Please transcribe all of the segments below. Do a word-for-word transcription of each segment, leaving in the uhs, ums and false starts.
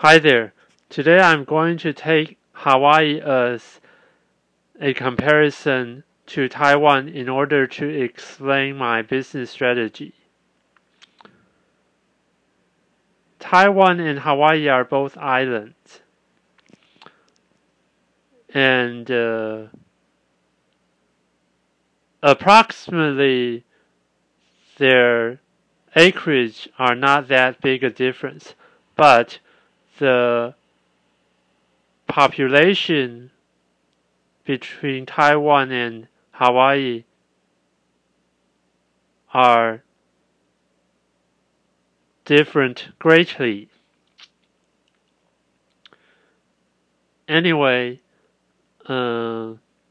Hi there. Today I'm going to take Hawaii as a comparison to Taiwan in order to explain my business strategy. Taiwan and Hawaii are both islands, and uh, approximately their acreage are not that big a difference, but the population between Taiwan and Hawaii are different greatly. Anyway, uh,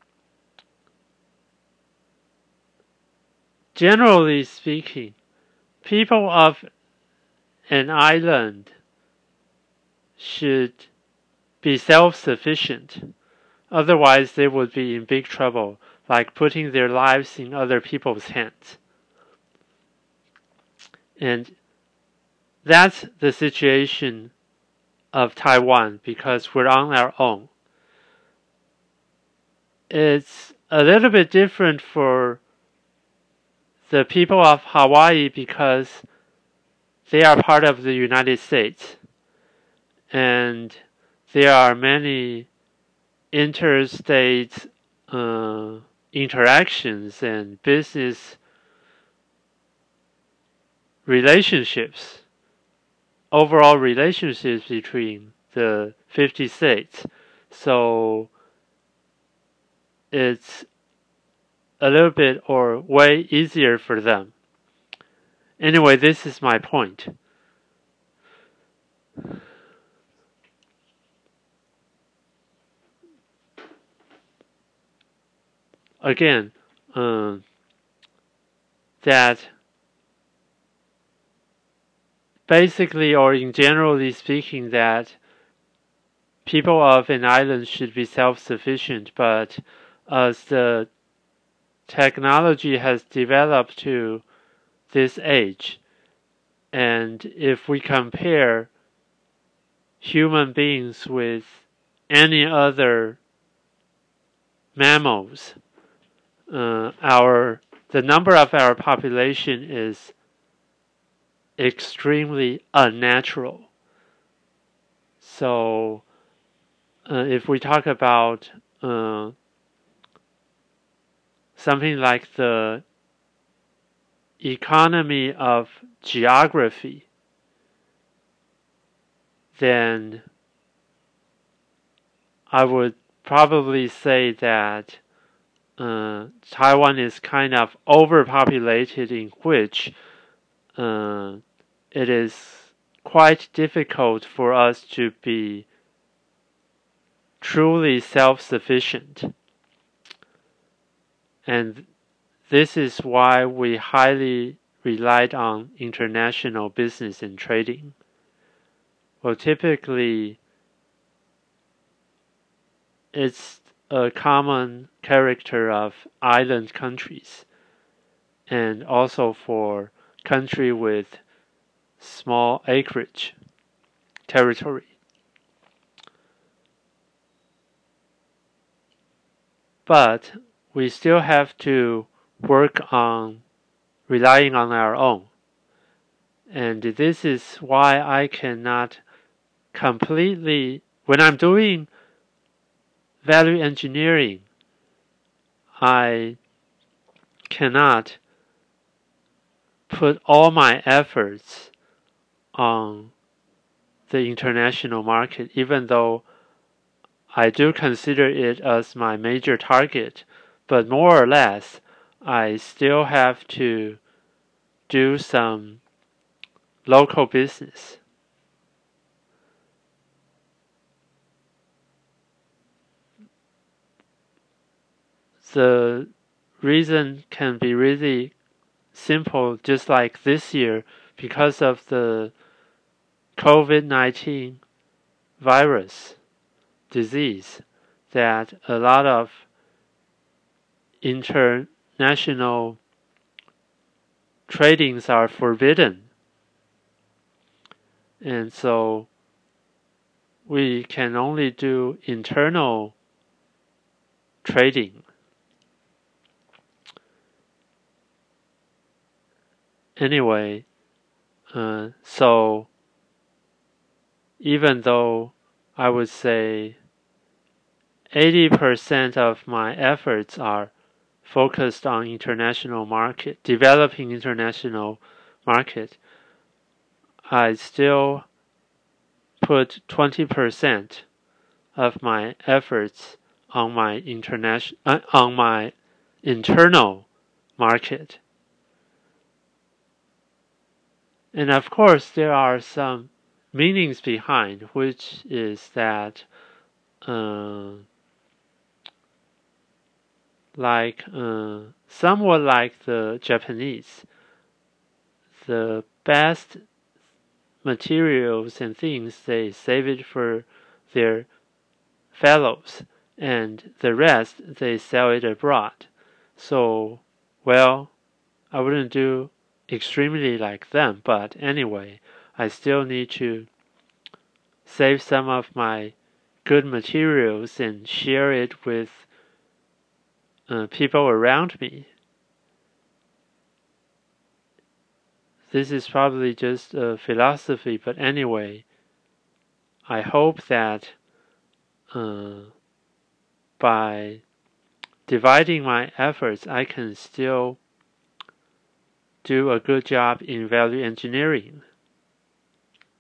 generally speaking, people of an island should be self-sufficient. Otherwise, they would be in big trouble, like putting their lives in other people's hands. And that's the situation of Taiwan because we're on our own. It's a little bit different for the people of Hawaii because they are part of the United States. And there are many interstate uh, interactions and business relationships, overall relationships between the fifty states. So it's a little bit or way easier for them. Anyway, this is my point. Again, uh, that basically or in generally speaking that people of an island should be self-sufficient, but as the technology has developed to this age, and if we compare human beings with any other mammals, uh, our the number of our population is extremely unnatural. So, uh, if we talk about uh, something like the economy of geography, then I would probably say that uh, Taiwan is kind of overpopulated, in which uh, it is quite difficult for us to be truly self-sufficient. And this is why we highly relied on international business and trading. Well, typically, it's a common character of island countries, and also for country with small acreage territory. But we still have to work on relying on our own. And this is why I cannot completely, when I'm doing value engineering, I cannot put all my efforts on the international market, even though I do consider it as my major target. But more or less, I still have to do some local business. The reason can be really simple, just like this year, because of the COVID nineteen virus disease, that a lot of international tradings are forbidden. And so we can only do internal trading. Anyway, uh, so even though I would say eighty percent of my efforts are focused on international market, developing international market, I still put twenty percent of my efforts on my international, uh, on my internal market. And of course, there are some meanings behind, which is that, uh, like, uh, somewhat like the Japanese, the best materials and things, they save it for their fellows, and the rest, they sell it abroad. So, well, I wouldn't do extremely like them, but anyway, I still need to save some of my good materials and share it with uh, people around me. This is probably just a philosophy, but anyway, I hope that uh, by dividing my efforts, I can still do a good job in value engineering.